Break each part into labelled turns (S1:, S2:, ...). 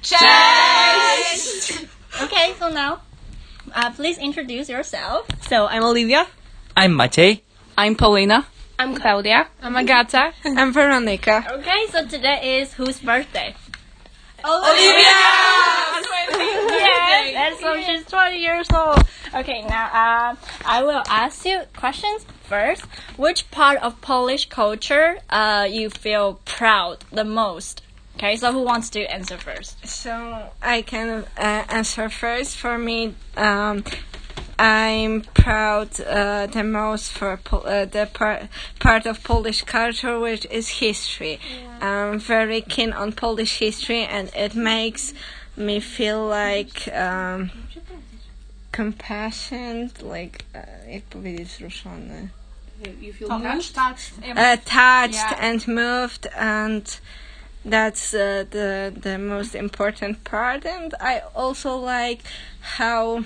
S1: Cześć!
S2: Okay, so now, please introduce yourself.
S3: So, I'm Olivia.
S4: I'm Maciej.
S1: I'm Paulina.
S5: I'm Claudia.
S1: I'm Agata.
S5: I'm Veronica.
S2: Okay, so today is whose birthday?
S1: Olivia!
S2: Yes, and so she's 20 years old. Okay, now I will ask you questions first. Which part of Polish culture you feel proud the most? Okay, so who wants to answer first?
S5: So I can answer first. For me, I'm proud the most for the part of Polish culture, which is history. I'm very keen on Polish history, and it makes me feel like compassion, like jak powiedzieć wzruszony.
S1: You feel touched?
S5: Touched and moved, and that's the most important part. And I also like how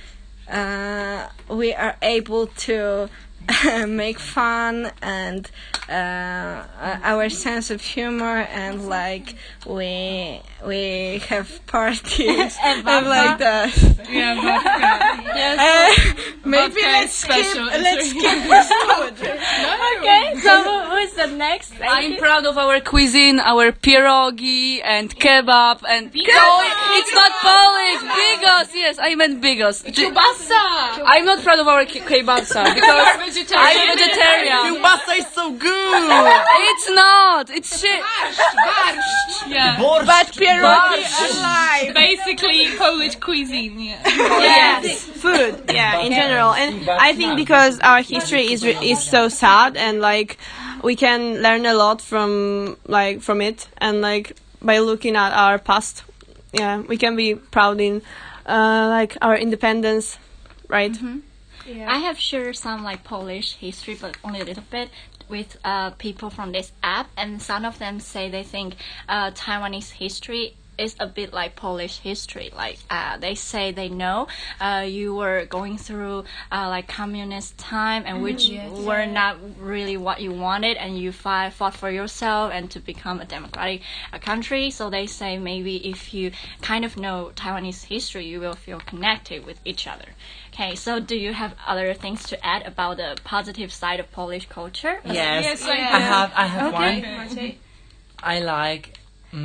S5: we are able to make fun, and our sense of humor, and like we have parties and like that.
S1: Yeah, vodka.
S5: Maybe
S1: Vodka
S5: let's skip
S1: special.
S5: this food.
S2: Okay, so who is the next?
S1: I'm proud of our cuisine, our pierogi and kebab and... No, it's not Polish! Bigos! Yes, I meant bigos.
S5: Kielbasa!
S1: I'm not proud of our kielbasa because I'm vegetarian.
S4: Kiełbasa is so good!
S1: It's not! It's shit!
S5: Yeah.
S4: But
S5: pierogi alive.
S1: Basically Polish cuisine, yeah.
S3: Yes, food. Yeah, in general, and I think because our history is so sad, and like we can learn a lot from it, and like by looking at our past, yeah, we can be proud in like our independence, right?
S2: Mm-hmm. Yeah. I have shared some like Polish history, but only a little bit, with people from this app, and some of them say they think Taiwanese history is a bit like Polish history. Like they say they know you were going through like communist time, and which were not really what you wanted, and you fought for yourself and to become a democratic country. So they say maybe if you kind of know Taiwanese history, you will feel connected with each other. Okay, so do you have other things to add about the positive side of Polish culture?
S4: Yes, I have one. I like...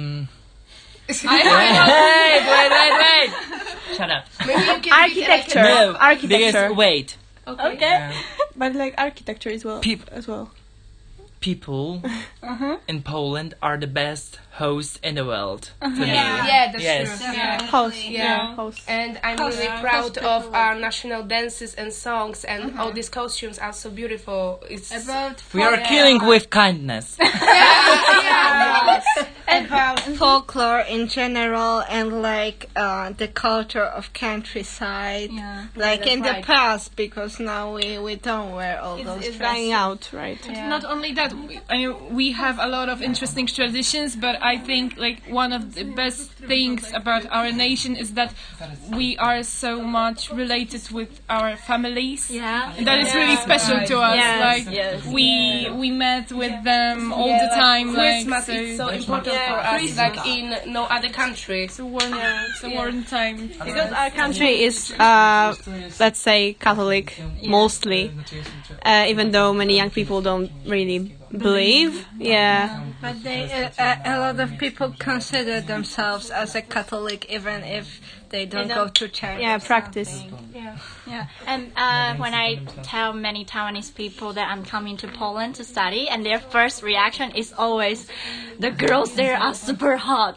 S4: Wait. Shut up.
S3: Architecture.
S4: No,
S3: Architecture.
S4: because wait.
S2: Okay.
S3: But like architecture as well.
S4: People in Poland are the best hosts in the world. To me.
S6: Yeah, that's
S4: Yes.
S6: true. Yeah.
S3: Host.
S6: And I'm really proud of our national dances and songs, and all these costumes are so beautiful. It's
S4: We are killing with kindness.
S5: About folklore in general, and like the culture of countryside, like in the past, because now we don't wear all those
S3: It's
S5: dresses.
S3: dying out, right?
S1: Not only that, we have a lot of interesting traditions, but I think like one of the best things about our nation is that we are so much related with our families.
S2: Yeah.
S1: And that is really special to us.
S2: Yes,
S1: Like
S2: yes.
S1: we met with them all the time.
S6: Christmas
S1: like,
S6: is so important for us, like in no other country.
S1: It's a warm time.
S3: Because our country is, let's say, Catholic, mostly, even though many young people don't really believe. Yeah.
S5: But a lot of people consider themselves as a Catholic, even if they don't go to church.
S3: Yeah, practice.
S2: Yeah, and when I tell many Taiwanese people that I'm coming to Poland to study, and their first reaction is always, the girls there are super hot.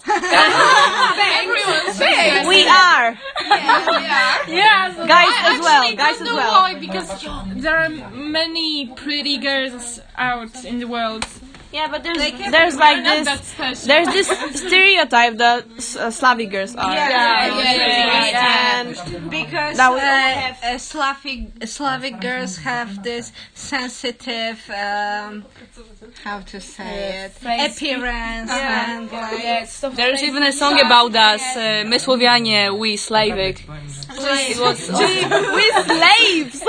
S3: We are.
S2: Yeah, so
S3: Guys as well.
S1: I
S3: Guys
S1: don't
S3: as
S1: know
S3: well.
S1: why, because there are many pretty girls out in the world.
S3: Yeah, but there's like
S1: Not that
S3: this.
S1: special.
S3: There's this stereotype that Slavic girls are. And
S5: Because
S3: That we
S5: Slavic girls have this sensitive, how to say it, appearance, and like,
S1: There's even a song about us, my Słowianie, we Slavic. It was
S3: we slaves.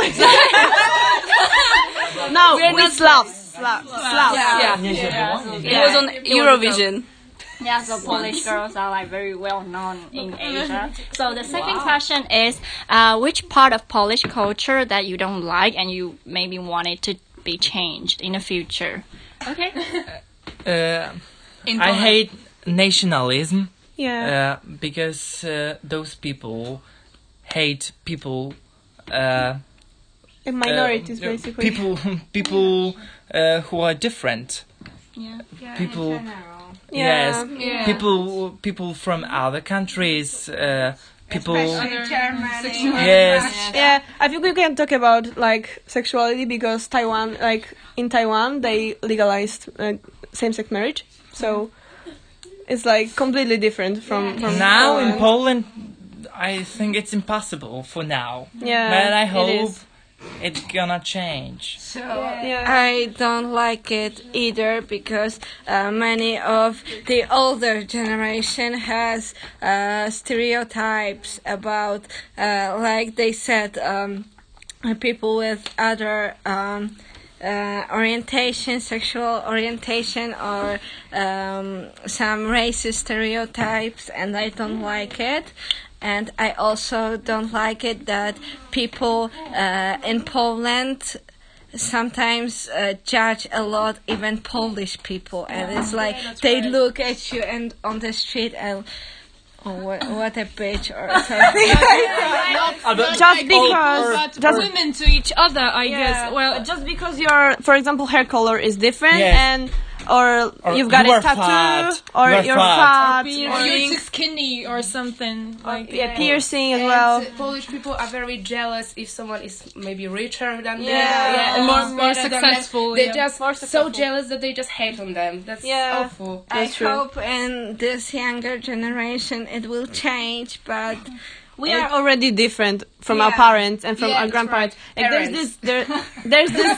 S3: No, we Slavs. Slavs.
S1: yeah. It was on Eurovision.
S2: Yeah, so Polish girls are like very well known in Asia. So the second question is, which part of Polish culture that you don't like and you maybe want it to be changed in the future? Okay.
S4: I hate nationalism
S3: Yeah.
S4: because those people hate people.
S3: And minorities, basically.
S4: People who are different. People.
S3: Yeah.
S4: Yes. People from other countries. People.
S5: Germany.
S4: Yes.
S3: Yeah, I think we can talk about like sexuality because Taiwan, like in Taiwan, they legalized same-sex marriage, so it's like completely different from
S4: Now in
S3: Poland.
S4: Poland, I think it's impossible for now.
S3: Yeah,
S4: But I
S3: it
S4: hope
S3: is.
S4: it's gonna change.
S5: So
S3: Yeah.
S5: I don't like it either because many of the older generation has stereotypes about, like they said, people with other orientation, sexual orientation, or some racist stereotypes, and I don't like it. And I also don't like it that people in Poland sometimes judge a lot, even Polish people, and it's like they look at you and on the street and what a bitch or something.
S3: Just because
S1: But women to each other, I guess. Well,
S3: just because your, for example, hair color is different,
S4: Yes.
S3: and or you've got
S4: you
S3: a
S4: are
S3: tattoo,
S4: fat.
S3: or
S4: You are
S3: you're
S4: fat.
S3: fat,
S1: you're too skinny or something. Like,
S3: yeah, piercing as
S6: And
S3: well.
S6: Polish people are very jealous if someone is maybe richer than them.
S3: Yeah.
S1: and more
S6: better than them.
S1: successful.
S6: They're
S1: yeah.
S6: just so jealous that they just hate on them. That's
S3: Yeah.
S6: awful.
S5: I
S3: That's true.
S5: hope in this younger generation it will change, but
S3: We are already different from our
S5: Yeah.
S3: parents and from
S6: Yeah,
S3: our
S6: that's
S3: grandparents.
S6: right.
S3: Like
S6: Parents.
S3: there's this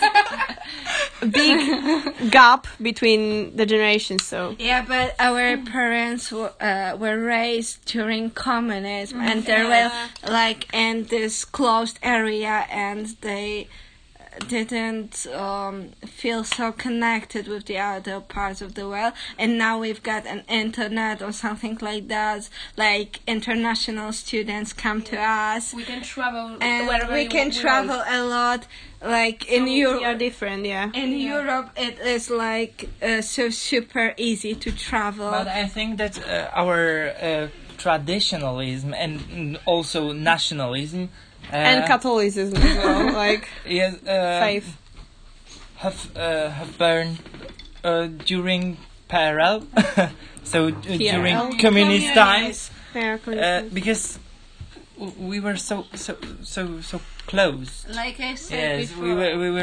S3: big gap between the generations. So
S5: yeah, but our parents were raised during communism, and they were like in this closed area, and they didn't feel so connected with the other parts of the world. And now we've got an internet or something like that, like international students come to us,
S6: We can travel
S5: and
S6: wherever
S5: we can travel a lot. Like in
S3: we are
S5: Europe,
S3: different. Yeah.
S5: in Europe, it is like so super easy to travel.
S4: But I think that our traditionalism and also nationalism
S3: And Catholicism as well, like
S4: yes,
S3: faith.
S4: have burned during PRL, so during communist times,
S3: Yeah,
S4: because we were so close.
S5: Like I said
S4: Yes,
S5: before.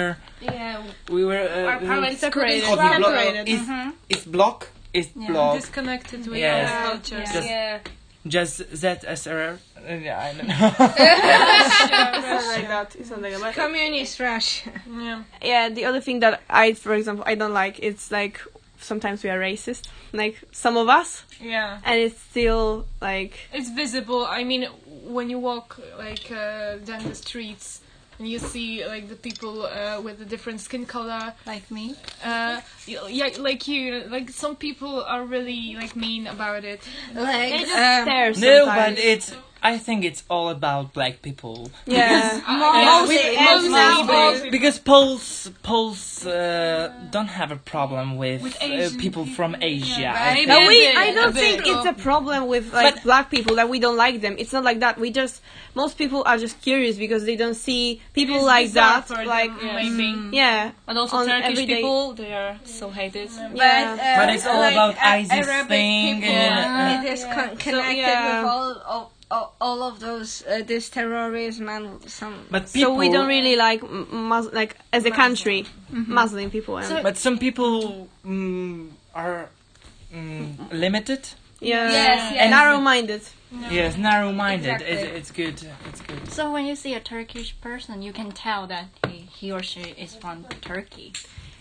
S4: we were
S6: Our parents
S3: separated.
S4: how do you block?
S3: Separated.
S4: It's block. It's block.
S1: Disconnected with
S4: Yes.
S1: our culture.
S4: Just-
S6: Yeah.
S4: Just ZSRR. Yeah, I don't know.
S3: Something like that. It's something like that.
S5: Communist Russia.
S1: Yeah.
S3: Yeah, the other thing that for example, I don't like, it's like sometimes we are racist, like some of us,
S1: Yeah.
S3: and it's still like
S1: It's visible. I mean, when you walk like down the streets and you see like the people with a different skin color,
S2: Like me.
S1: yeah, like you, like some people are really like mean about it.
S5: Like
S3: they just stare
S4: No,
S3: sometimes.
S4: but I think it's all about black people.
S3: yeah.
S1: Mostly.
S4: Because Poles don't have a problem with,
S1: Asian
S4: people from Asia.
S1: right?
S4: I
S3: But
S4: think.
S3: I don't
S1: a
S3: think
S1: bit.
S3: it's a problem with like black people that we don't like them. It's not like that. Most people are just curious because they don't see people
S1: It's
S3: like
S1: bizarre
S3: that.
S1: for
S3: Like
S1: them, maybe.
S3: yeah,
S7: And also
S3: on
S7: Turkish
S3: everyday-
S7: people, they are so hated.
S3: yeah.
S4: But it's all about ISIS
S5: Arabic
S4: thing
S5: people,
S4: and
S5: it is connected
S3: yeah.
S5: with all of those this terrorism and some.
S4: but people.
S3: So we don't really like like as a country Muslim people. And,
S4: But some people are limited.
S3: yeah,
S6: Yes.
S3: narrow-minded.
S4: Yes, narrow-minded.
S6: Exactly.
S4: It's good. It's good.
S2: So when you see a Turkish person, you can tell that he or she is from Turkey.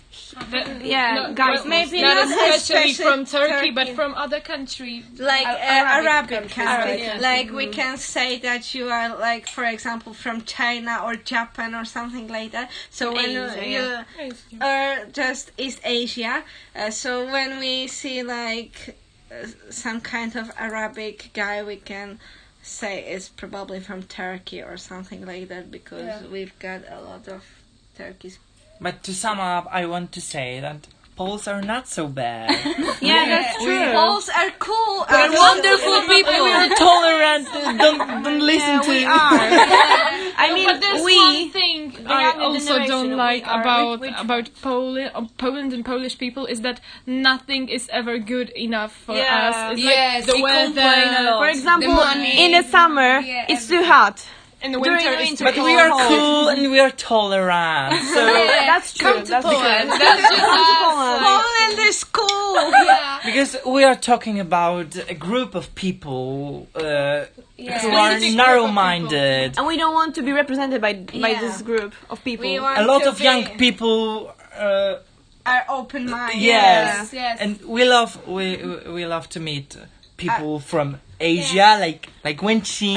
S3: Yeah, guys,
S5: maybe
S1: Not
S5: not
S1: especially
S5: especially
S1: from Turkey, but
S5: Turkey.
S1: from other countries.
S5: Like Arabic countries.
S1: Arabic,
S5: Like we can say that you are like, for example, from China or Japan or something like that. So when
S3: Asia,
S5: you or just East Asia. So when we see like some kind of Arabic guy, we can say is probably from Turkey or something like that, because we've got a lot of Turkish.
S4: But to sum up, I want to say that Poles are not so bad.
S2: Yeah, that's true.
S5: Poles are cool.
S7: They're wonderful people.
S4: We're tolerant. Don't listen to
S3: we
S4: it.
S3: are. I mean,
S1: But there's one thing I
S2: younger
S1: also
S2: generation,
S1: don't
S2: we
S1: like
S2: are-
S1: about Poland and Polish people is that nothing is ever good enough for
S3: Yeah.
S1: us. It's
S6: Yes,
S1: like the
S6: we
S1: weather.
S7: complain a lot.
S3: For example,
S6: The money.
S3: in the summer, it's too hot.
S1: In the
S3: During
S1: winter,
S3: the
S1: it's
S3: winter,
S1: too
S4: But we are
S1: cold.
S4: cool and we are tolerant. So
S3: That's true.
S6: Come to
S3: That's
S6: Poland.
S3: true.
S6: That's just
S3: Poland.
S5: Poland is cool.
S4: because we are talking about a group of people who are
S1: Specific
S4: narrow-minded.
S3: And we don't want to be represented by this group of people.
S5: We want
S4: A lot
S5: to
S4: of young
S5: be-
S4: people.
S5: are open-minded.
S4: Yes.
S6: Yes.
S4: And we love to meet people from Asia, like Wenqin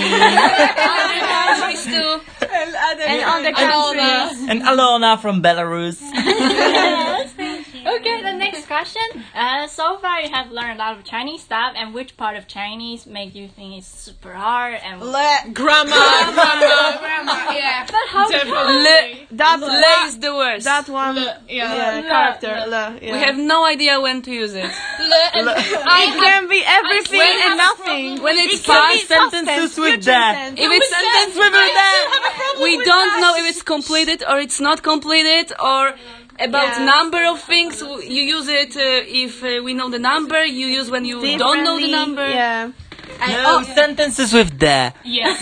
S3: And other countries.
S4: and Alona from Belarus.
S2: Okay, the next question. So far, you have learned a lot of Chinese stuff, and which part of Chinese make you think is super hard? And
S1: Grammar.
S6: Yeah.
S2: but how
S1: Definitely.
S3: That
S7: Le is the worst.
S3: that one character. Le, yeah.
S7: We have no idea when to use it.
S3: It can be everything and nothing.
S7: When it's
S3: It can be
S7: past
S4: sentences with
S3: future
S4: that.
S3: tense.
S7: If it's sentence we don't know if it's completed or it's not completed, or about number of things. You use it if we know the number. You use when you don't know the
S3: Differently,
S7: number.
S3: Yeah.
S4: No sentences with the.
S1: Yes.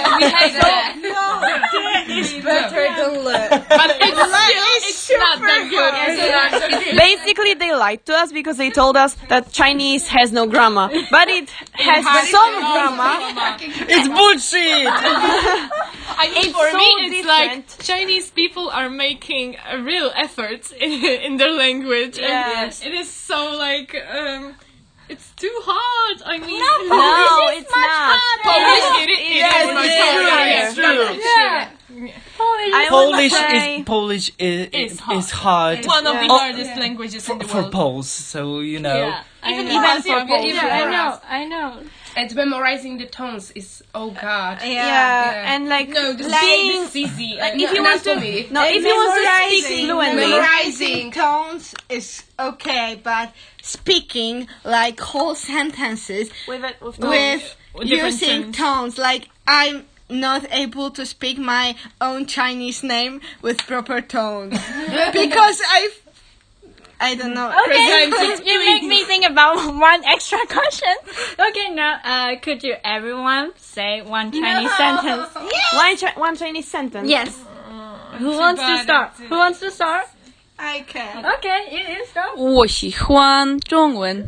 S5: It's better than le.
S1: But it's not that good.
S3: Basically, they lied to us because they told us that Chinese has no grammar, but it has some grammar.
S4: It's bullshit.
S1: I mean,
S3: It's
S1: for
S3: so
S1: me, it's
S3: different.
S1: like Chinese people are making a real effort in their language. And
S3: Yes.
S1: it is so like, it's too hard. I mean,
S3: No, it's not.
S1: Polish, it is much harder.
S4: It's true.
S3: I would say
S4: Polish
S1: It's hard.
S4: is hard.
S1: One of the
S4: Oh,
S1: hardest languages in the
S4: for
S1: world.
S4: Poles. So you know.
S2: Yeah,
S1: Even
S3: for Poles.
S2: I know.
S6: And memorizing the tones is, oh god.
S3: yeah, and like being
S1: It's easy.
S3: if you want to
S6: me.
S3: no, if you want to speak fluently,
S5: Memorizing tones is okay, but speaking like whole sentences with
S1: different
S5: using
S1: tones.
S5: tones, like I'm not able to speak my own Chinese name with proper tones because I don't know.
S2: You make me think about one extra question. Okay, now could you everyone say one Chinese sentence?
S3: one Chinese sentence.
S2: Yes. Who wants to start? Who wants to start?
S5: I can.
S2: Okay, you start.
S7: 我喜欢中文。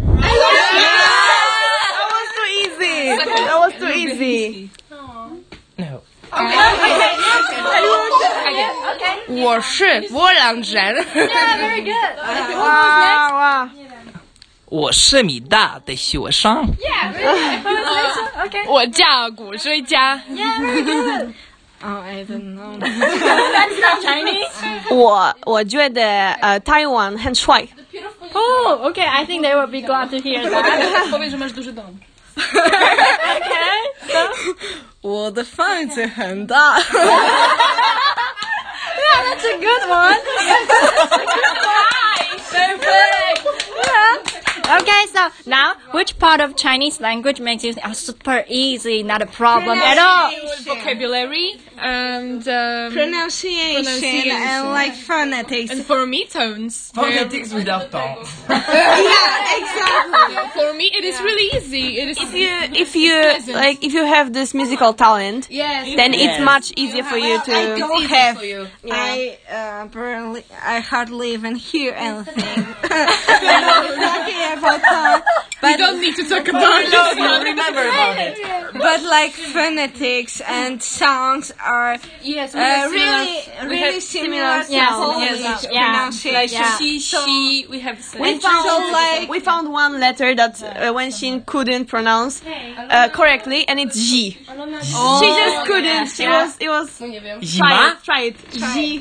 S3: That was too easy. That was too easy.
S4: No.
S6: 我是波兰人。
S2: Yeah, very good.
S3: Wow, wow.
S4: 我是米大的学生。
S2: Okay.
S1: 我叫古追加。
S2: Yeah, very good.
S5: Oh, I don't know.
S2: That's not Chinese.
S3: 我觉得台湾很帅。
S2: Oh, okay. I think they will be glad to hear that.
S7: Powiedz, że masz duży dom.
S2: Okay. So,
S5: 我的房子很大。
S2: yeah, that's a good one. Perfect. Yeah. Okay, so now, which part of Chinese language makes you think, super easy, not a problem at all?
S1: Vocabulary and
S5: Pronunciation and like phonetics.
S1: and for me tones.
S4: Phonetics without tones.
S5: Yeah, exactly.
S1: For me, it is really easy. It is
S3: If you have this musical talent,
S6: Yes.
S3: then it's much easier for you to.
S5: I don't
S6: easy
S5: have.
S6: for you.
S5: I hardly even hear anything. Talking about that,
S1: You don't need to talk about it.
S4: No, remember about it.
S5: but like phonetics and sounds are
S7: Yes,
S5: really similar to
S2: Yes,
S5: Polish
S2: yes, yeah.
S5: pronunciation.
S2: Yeah.
S7: she, she, we have said.
S3: We found one letter that Wenxin couldn't pronounce correctly, and it's G. She just couldn't. It was.
S4: Zima?
S3: Try it. G.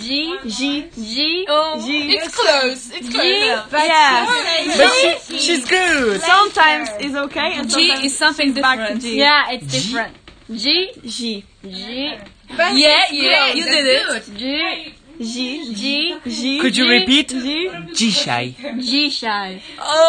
S1: It's close. It's close.
S3: Yeah.
S4: But she's good.
S3: Sometimes it's okay, and
S7: G
S3: sometimes
S7: is something
S3: back to
S7: different.
S3: G.
S2: Yeah, it's different. G.
S7: Yeah, you did it.
S3: G.
S4: Could you repeat?
S3: G.
S4: Dzisiaj.
S2: G-shy.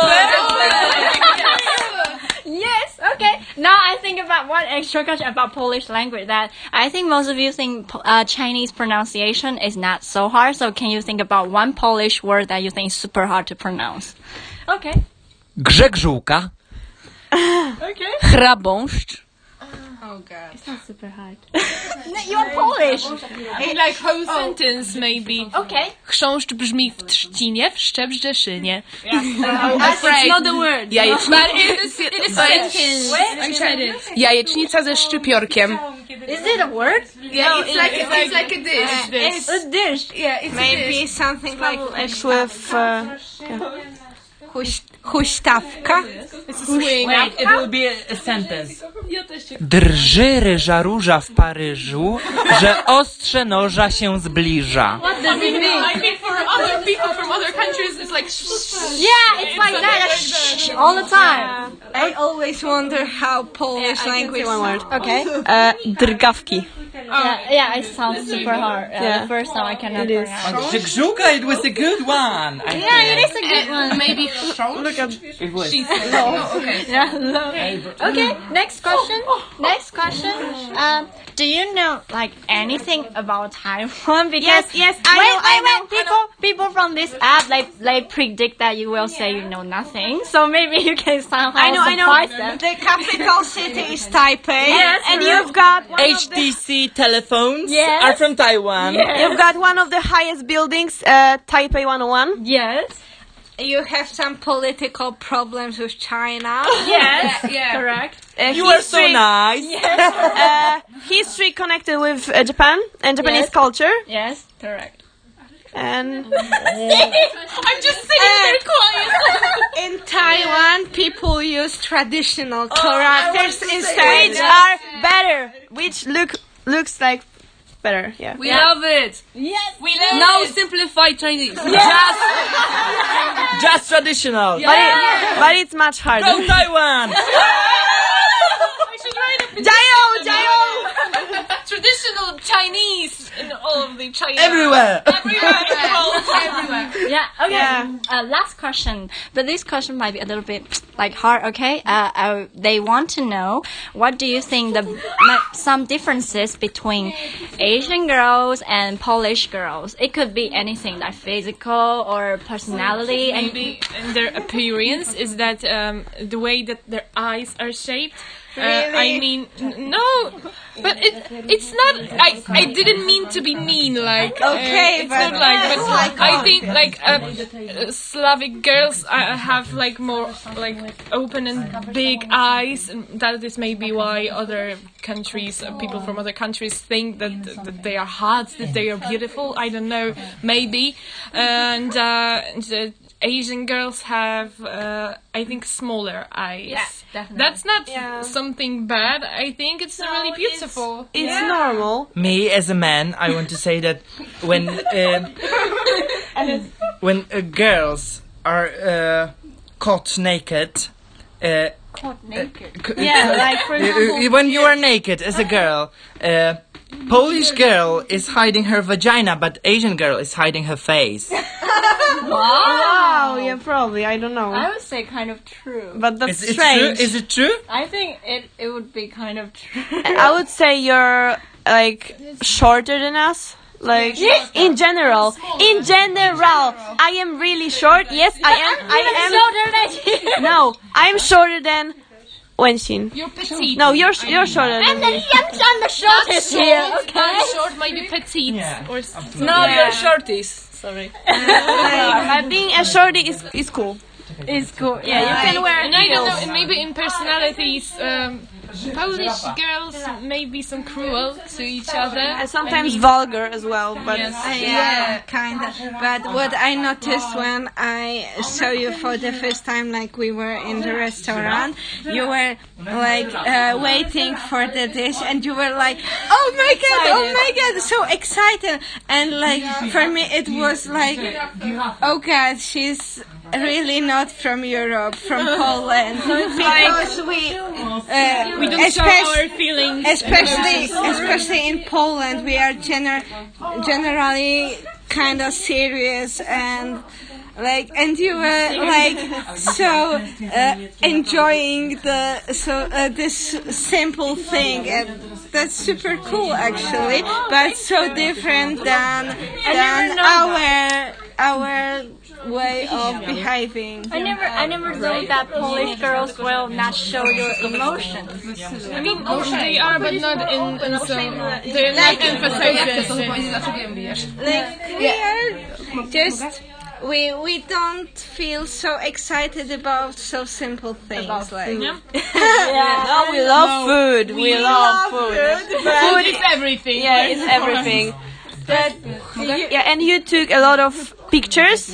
S2: Yes, okay. Now I think about one extra question about Polish language that I think most of you think Chinese pronunciation is not so hard. So can you think about one Polish word that you think is super hard to pronounce? Okay.
S4: Grzegżółka.
S3: Okay.
S7: Chrabąszcz.
S5: Oh god.
S2: It's not super hard. You are Polish.
S1: Like whole sentence maybe.
S2: Okay.
S1: Chrząszcz brzmi w trzcinie, wszczep w Rzeszynie.
S7: It's not the word.
S6: But it is sentence. Jajecznica ze szczypiorkiem.
S2: Is it a word?
S6: Yeah, it's like a dish.
S2: It's a dish.
S6: Yeah, it's
S5: Maybe something like
S3: X with.
S5: huśtawka.
S4: Wait, it will be a sentence. Drży ryża róża w Paryżu, że ostrze noża się zbliża.
S1: I mean, for other people from other countries, it's like.
S2: Yeah, it's like that all the time.
S5: I always wonder how Polish language.
S3: One word.
S2: Okay.
S3: Drgawki.
S2: Yeah, it sounds super hard.
S3: Yeah.
S2: The first time I cannot
S3: It is.
S2: pronounce.
S4: Grzegżółka, it was a good one.
S2: Yeah, it is a good one.
S6: Maybe chrząszcz.
S3: Look at.
S4: It was.
S2: Yeah, okay, next question. Next question. Do you know like anything about Taiwan? Because
S3: Yes, I know.
S2: People from this app they predict that you will say you know nothing. So maybe you can somehow
S3: I know.
S2: surprise them.
S5: The capital city is Taipei.
S2: Yes,
S3: And you've got one of the,
S4: HTC telephones
S2: Yes.
S4: are from Taiwan.
S3: you've got one of the highest buildings, Taipei 101.
S2: Yes.
S5: You have some political problems with China.
S2: Yes.
S6: Yeah.
S2: Correct.
S4: You are so nice.
S3: History connected with Japan and Japanese
S2: Yes.
S3: culture.
S2: Yes. Correct.
S3: And
S1: I'm just sitting there quiet.
S5: In Taiwan, people use traditional characters instead.
S3: which are better, which looks like better. Yeah.
S7: We love it.
S2: Yes.
S1: We love
S7: Now
S1: it.
S7: simplified Chinese.
S4: Just traditional.
S3: But it's much harder.
S4: Go Taiwan.
S1: I should write a
S3: Jayo!
S1: traditional Chinese in all of the China.
S4: Everywhere.
S1: Everywhere. Everywhere.
S2: Yeah. Okay.
S3: Yeah.
S2: Last question, but this question might be a little bit like hard. Okay. They want to know what do you think some differences between Asian girls and Polish girls? It could be anything like physical or personality. And
S1: Maybe in their appearance is that the way that their eyes are shaped. I mean, no, but it's not. I didn't mean to be mean. Like
S5: Okay,
S1: it's
S5: but
S1: not like. But I think like Slavic girls have like more like open and big eyes, and that is maybe why other countries, people from other countries think that they are hot, that they are beautiful. I don't know, maybe, and the Asian girls have, I think, smaller eyes.
S2: Yeah, definitely.
S1: That's not something bad. I think it's really beautiful.
S3: It's normal.
S4: Me as a man, I want to say that when girls are caught naked.
S2: caught naked.
S3: Yeah, like for example.
S4: When you are naked as a girl, Polish girl is hiding her vagina, but Asian girl is hiding her face.
S3: Wow, yeah, probably. I don't know.
S2: I would say kind of true.
S3: But that's
S4: Is it
S3: strange.
S4: true? Is it true?
S2: I think it would be kind of true.
S3: I would say you're like shorter than us. Like in general, I am really short. Yes, I am.
S2: shorter than you.
S3: No, I'm shorter than Wenshin.
S1: You're petite.
S3: No, you're shorter than me.
S2: I'm the shortest here. Okay.
S1: Short might be petite.
S4: Yeah.
S1: Or
S7: No, you're shorties. Sorry.
S3: Being a shorty is cool.
S2: It's cool. Yeah, you can wear
S1: And I don't
S2: heels.
S1: know, maybe in personalities, Polish girls may be some cruel to each other.
S3: And sometimes vulgar as well, but
S1: Yes.
S5: Yeah, kind of. But what I noticed when I saw you for the first time, like we were in the restaurant, you were like waiting for the dish, and you were like, "Oh my god, so excited!" And like for me, it was like, "Oh god, she's." Really not from Europe, from Poland, because we
S1: don't show our feelings.
S5: especially in Poland, we are generally kind of serious and like, and you were like so enjoying this simple thing, and that's super cool actually, but so different than our way of behaving.
S2: I never thought that Polish girls will not show your emotions.
S1: I mean, they are, but not in so. They're not emphasizing.
S5: Like we are just we don't feel so excited about so simple things like
S3: no, we love food. We love food.
S1: Food is everything.
S3: Yeah, it's everything. But and you took a lot of pictures.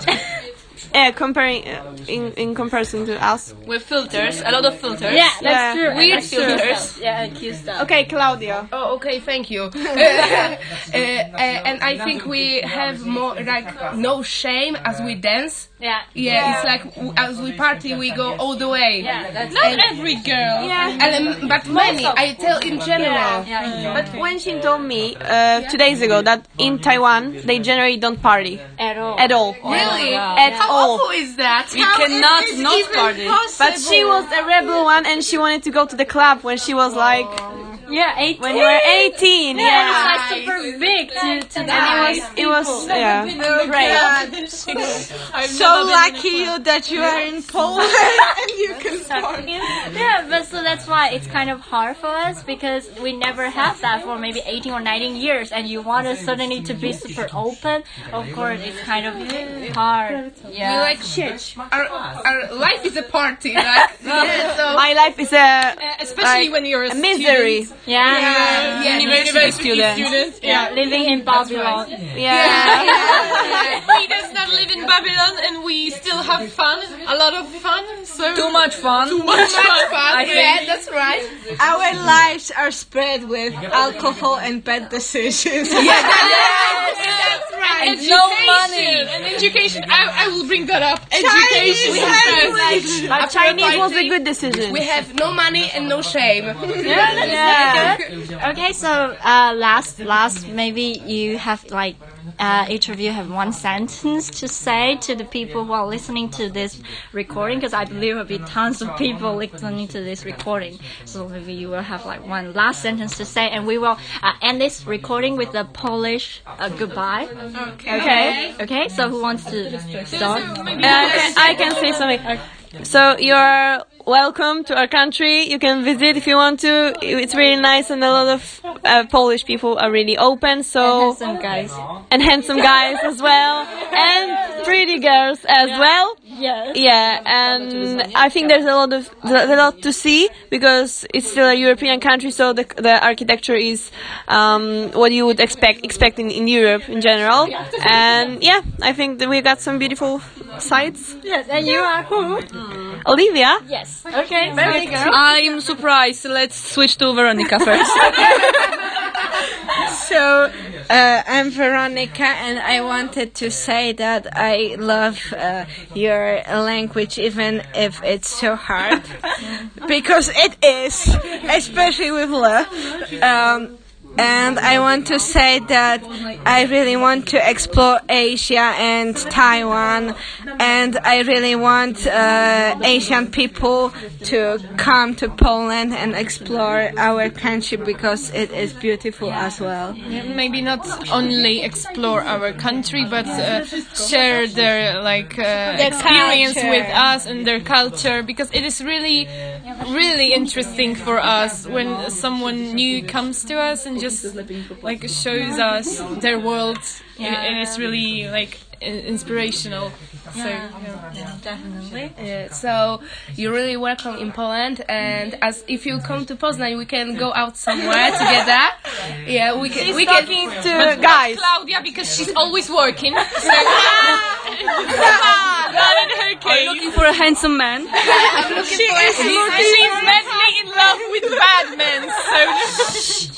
S3: Comparing in comparison to us.
S7: With filters, a lot of filters.
S2: Yeah, that's true.
S7: Weird filters.
S2: Yeah, cute stuff.
S3: Okay, Claudia.
S6: Oh, okay, thank you. And I think we have more like no shame as we dance.
S2: Yeah.
S6: Yeah, it's like as we party, we go all the way.
S2: Yeah, that's
S1: Not every girl.
S6: But many, I tell in general.
S3: But when she told me 2 days ago that in Taiwan they generally don't party
S2: at all.
S3: at all.
S6: Really?
S3: At
S6: How
S3: all.
S6: awful is that?
S7: We cannot not party.
S3: But she was a rebel one, and she wanted to go to the club when she was like
S2: Yeah, 18.
S3: when you were 18.
S2: Yeah, and it's like super big to
S3: And it was yeah.
S5: great. So lucky you that you are in Poland and you can party.
S2: Yeah, but so that's why it's kind of hard for us because we never had that for maybe 18 or 19 years, and you want us suddenly to be super open. Of course, it's kind of hard. Yeah.
S6: We're like shit. Our life is a party, right? So
S3: My life is a
S1: Especially when you're a
S3: misery.
S2: Yeah.
S1: university
S3: student.
S2: Yeah, living in Babylon.
S3: Yeah.
S1: He does not live in Babylon, and we still have fun, a lot of fun. So
S7: Too much fun.
S6: yeah, that's right.
S5: Our lives are spread with alcohol and bad decisions.
S6: That's right.
S1: And
S7: no money.
S1: And education. I will bring that up. Education.
S3: But Chinese was a good decision.
S6: We have no money and no shame.
S3: Yeah.
S2: Okay, so last maybe you have like each of you have one sentence to say to the people who are listening to this recording, because I believe there will be tons of people listening to this recording. So maybe you will have like one last sentence to say, and we will end this recording with the Polish goodbye. Okay. So who wants to start?
S3: I can say something. So you're welcome to our country. You can visit if you want to. It's really nice, and a lot of Polish people are really open. So
S2: Handsome guys.
S3: and handsome guys as well, and pretty girls as well.
S2: Yes.
S3: Yeah, and I think there's a lot to see because it's still a European country, so the architecture is what you would expect in Europe in general. And yeah, I think that we got some beautiful sites.
S2: Yes, and you are who?
S3: Olivia.
S2: Yes. Okay. Very good.
S7: I'm surprised. Let's switch to Veronica first.
S5: So, I'm Veronica, and I wanted to say that I love your language, even if it's so hard, because it is, especially with love. And I want to say that I really want to explore Asia and Taiwan, and I really want Asian people to come to Poland and explore our country because it is beautiful as well.
S1: Maybe not only explore our country, but share their experience
S5: culture.
S1: with us and their culture, because it is really, really interesting for us when someone new comes to us and just shows us their world. It is really inspirational. So
S2: Definitely.
S6: Yeah, so you're really welcome in Poland, and as if you come to Poznań, we can go out somewhere together. Yeah, we can.
S3: She's talking to guys.
S1: Claudia, because she's always working. So not in her
S7: Are you
S1: case.
S7: looking for a handsome man?
S1: She's madly in love with bad men. So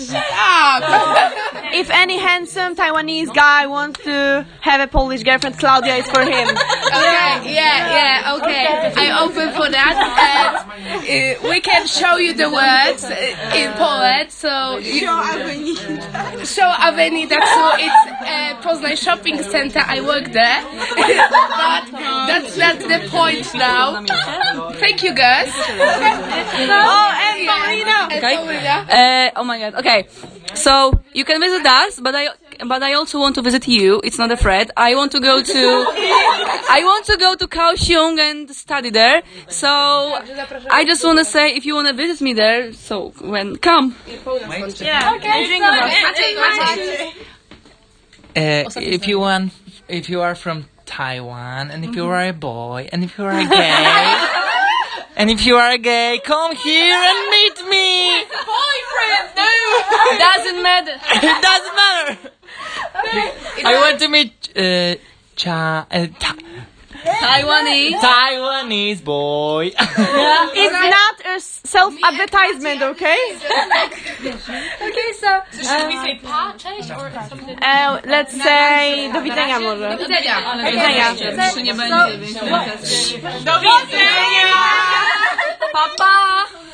S3: If any handsome Taiwanese guy wants to have a Polish girlfriend, Claudia is for him.
S6: Okay, yeah, okay. I'm open for that, and we can show you the words in Poland. So show Avenida. So it's Poznań Shopping Center. I work there, but that's the point now. Thank you, guys.
S3: Oh, and Paulina.
S7: Okay. Oh my god. Okay. So you can visit us, but I also want to visit you. It's not a threat. I want to go to Kaohsiung and study there. So I just want to say, if you want to visit me there, so come.
S3: Yeah, okay. Drink
S4: if you are from Taiwan, and if you are a boy, and if you are a gay, and if you are a gay, come here and meet me.
S1: boyfriend, no.
S7: Doesn't matter.
S4: It doesn't matter. I want to meet Taiwanese boy.
S3: It's not a self-advertisement, okay?
S2: Okay, so
S1: Should we say pa, cześć, or something?
S3: Let's say do widzenia może.
S1: Do widzenia.
S7: Nie będzie, więc
S1: Do widzenia.
S7: Pa, pa.